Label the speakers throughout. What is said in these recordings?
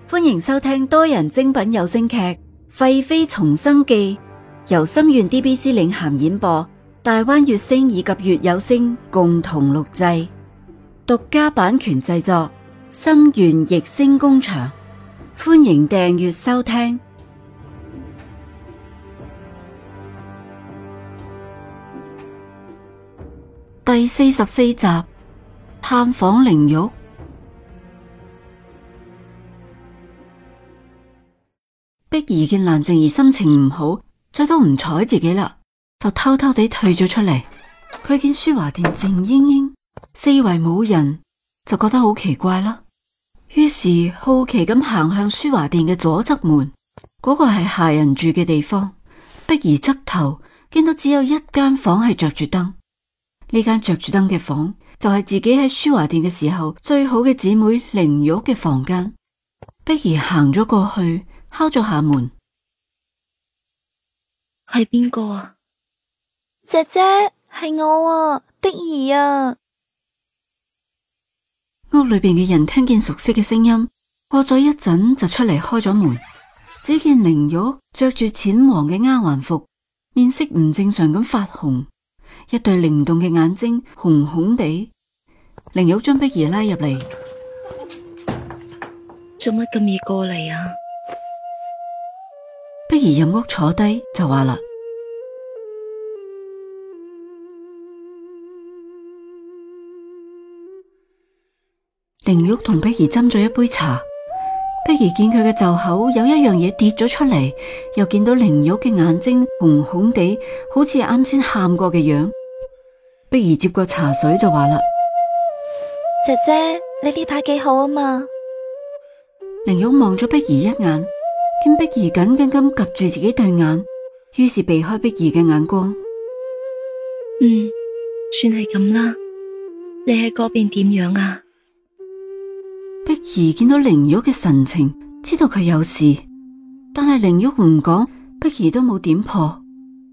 Speaker 1: 歡迎收聽多人精品有聲劇《廢妃重生記》，由心願 DBC 領銜演播，大灣月星以及月有聲共同錄製，獨家版權製作，心願逸聲工場。歡迎訂閱收聽。第44集，探訪靈玉。碧兒見蘭靜兒心情唔好，再都唔睬自己啦，就偷偷地退咗出嚟。佢見舒華殿靜英英，四圍冇人，就覺得好奇怪啦。於是好奇咁行向舒華殿嘅左側門，嗰個係下人住嘅地方。碧兒側頭見到只有一間房係着住燈，呢間着住燈嘅房就係自己喺舒華殿嘅時候最好嘅姊妹靈玉嘅房間。碧兒行咗過去，敲咗下門。
Speaker 2: 係邊個啊？
Speaker 3: 姐姐，係我啊，碧兒啊。
Speaker 1: 屋裏邊嘅人聽見熟悉嘅聲音，過咗一陣就出嚟開咗門。只見靈玉着住淺黃嘅丫鬟服，面色唔正常咁發紅，一對靈動嘅眼睛紅紅地。靈玉將碧兒拉入嚟。
Speaker 2: 做乜咁易過嚟啊？
Speaker 1: 碧兒入屋坐低就話啦：靈玉同碧兒斟咗一杯茶。碧兒見佢嘅袖口有一樣嘢跌咗出嚟，又見到靈玉嘅眼睛紅紅地，好似啱先喊過嘅樣。碧兒接過茶水就話啦：
Speaker 3: 姐姐，你呢排幾好啊嘛？
Speaker 1: 靈玉望咗碧兒一眼，見碧兒緊緊咁夾住自己對眼，於是避開碧兒嘅眼光。
Speaker 2: 算係咁啦。你喺嗰邊點樣啊？
Speaker 1: 碧兒見到靈玉嘅神情，知道佢有事，但係靈玉唔講，碧兒都冇點破。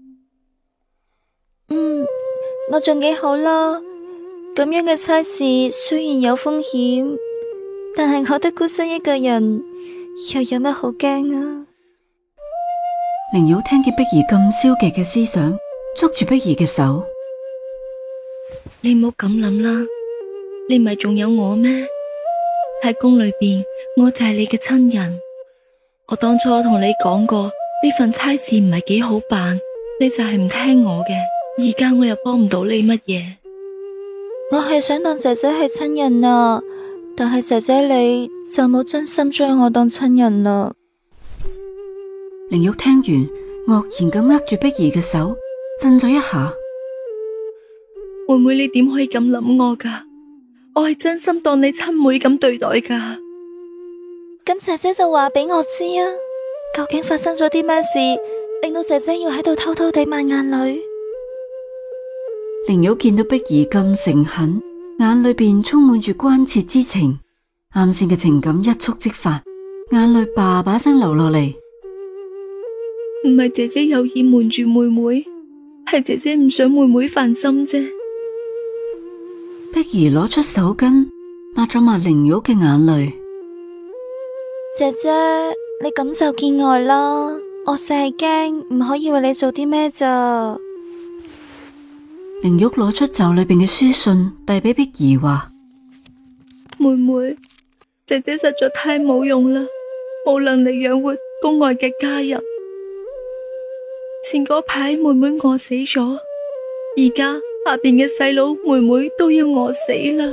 Speaker 3: 我仲幾好啦。咁樣嘅差事雖然有風險，但係我得孤身一個人，又有乜好驚啊？
Speaker 1: 靈玉聽見碧兒咁消極嘅思想，捉住碧兒嘅手。
Speaker 2: 你唔好咁諗啦，你唔係仲有我咩？喺宮裏邊，我就係你嘅親人。我當初同你講過，呢份差事唔係幾好辦，你就係唔聽我嘅。而家我又幫唔到你乜嘢。
Speaker 3: 我係想當姐姐係親人啊，但係姐姐你就冇真心將我當親人啦。
Speaker 1: 靈玉聽完，愕然咁握住碧兒嘅手，震咗一下。
Speaker 2: 妹妹，你點可以咁諗我噶？我係真心當你親妹咁對待噶。
Speaker 3: 咁姐姐就話俾我知啊，究竟發生咗啲咩事，令到姐姐要喺度偷偷地抹眼淚？
Speaker 1: 靈玉見到碧兒咁誠懇，眼裏邊充滿住關切之情，啱先嘅情感一觸即發，眼淚叭叭聲流落嚟。
Speaker 2: 唔係姐姐有意瞞住妹妹，係姐姐唔想妹妹煩心啫。
Speaker 1: 碧兒攞出手巾抹咗抹靈玉嘅眼淚。
Speaker 3: 姐姐，你咁就見外啦，我淨係驚唔可以為你做啲咩咋。
Speaker 1: 靈玉攞出袖裏邊嘅書信遞俾碧兒話：
Speaker 2: 妹妹，姐姐實在太冇用啦，冇能力養活宮外嘅家人。前嗰排妹妹餓死咗，而家下邊嘅細佬妹妹都要餓死啦。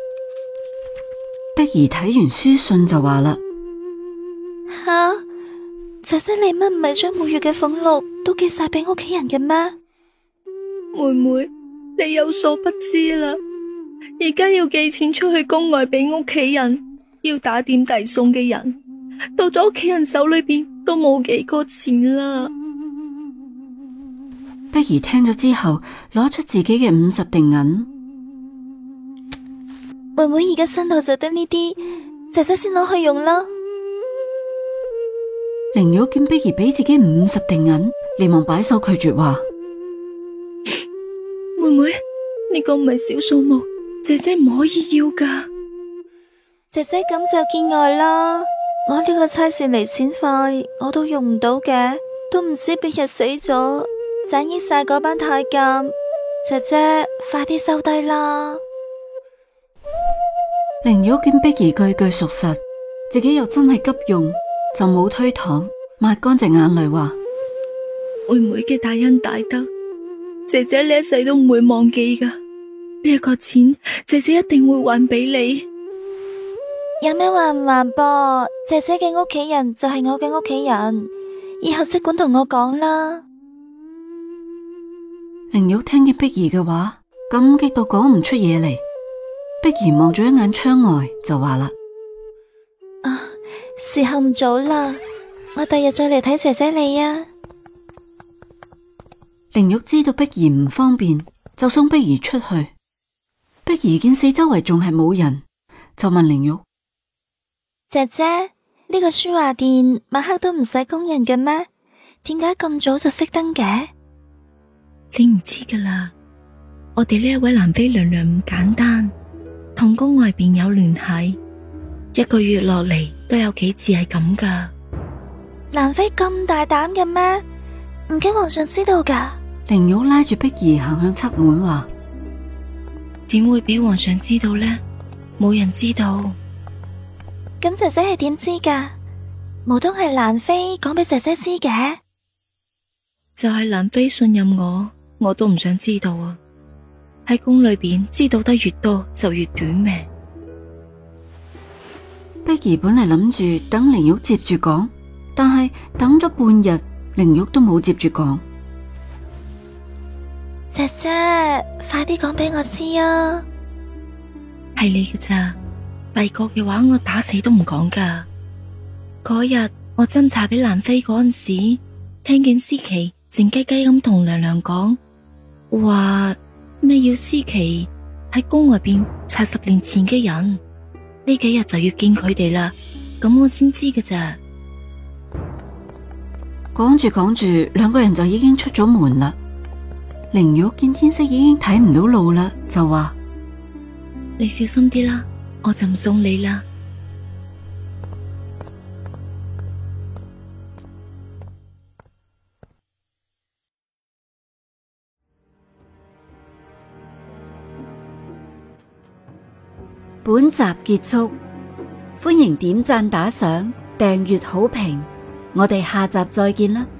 Speaker 1: 碧兒睇完書信就話啦：
Speaker 3: 吓，姐姐你乜唔係將每月嘅俸祿都寄晒俾屋企人嘅咩？
Speaker 2: 妹妹，你有所不知啦，而家要寄錢出去宮外俾屋企人，要打點遞送嘅人，到咗屋企人手裏邊都冇幾個錢啦。
Speaker 1: 碧兒聽咗之後，攞出自己嘅50錠銀。
Speaker 3: 妹妹而家身度就得呢啲，姐姐先攞去用啦。
Speaker 1: 靈玉見碧兒俾自己50錠銀，連忙擺手拒絕話：
Speaker 2: 妹妹，呢個唔係小數目，姐姐唔可以要噶。
Speaker 3: 姐姐咁就見外啦， 我呢個差事嚟錢快，我都用唔到嘅，都唔知邊日死咗，盞益晒嗰班太監。姐姐，快啲收低啦！
Speaker 1: 凌玉見碧兒句句屬實，自己又真係急用，就冇推搪，抹乾淨眼淚話：
Speaker 2: 妹妹嘅大恩大德，姐姐呢一世都唔會忘記噶。呢一個錢，姐姐一定會還俾你。
Speaker 3: 有咩還唔還噃？姐姐嘅屋企人就係我嘅屋企人，以後即管同我講啦。
Speaker 1: 凌玉聽見碧兒嘅話，感激到講唔出嘢嚟。碧兒望咗一眼窗外，就話啦：
Speaker 3: 時候唔早啦，我第日再嚟睇姐姐你啊。
Speaker 1: 凌玉知道碧兒唔方便，就送碧兒出去。碧兒見四周圍仲係冇人，就問凌玉：
Speaker 3: 姐姐，呢個書畫店晚黑都唔使工人嘅咩？點解咁早就熄燈嘅？
Speaker 2: 你唔知噶啦，我哋呢一位蘭妃娘娘唔簡單，同宮外邊有聯繫，一個月落嚟都有幾次係咁噶。
Speaker 3: 蘭妃咁大膽嘅咩？唔驚皇上知道噶？
Speaker 1: 凌玉拉住碧兒行向側門話：
Speaker 2: 點會俾皇上知道呢？冇人知道。
Speaker 3: 咁姐姐係點知噶？無通係蘭妃講俾姐姐知嘅？
Speaker 2: 就係蘭妃信任我都唔想知道啊！喺宮裏邊知道得越多就越短命。
Speaker 1: 碧兒本嚟諗住等凌玉接住講，但係等咗半日，凌玉都冇接住講。
Speaker 3: 姐姐，快啲講俾我知啊！
Speaker 2: 係你嘅咋？第個嘅話我打死都唔講噶。嗰日我斟茶俾蘭妃嗰陣時，聽見思琪靜雞雞咁同娘娘講，話咩要思琪喺宮外邊查10年前嘅人，呢幾日就要見佢哋啦。咁我先知嘅咋。
Speaker 1: 講住講住，兩個人就已經出咗門啦。凌玉見天色已經睇唔到路啦，就話：
Speaker 2: 你小心啲啦，我就唔送你啦。
Speaker 1: 本集結束，歡迎點讚打賞、訂閱好評，我哋下集再見啦！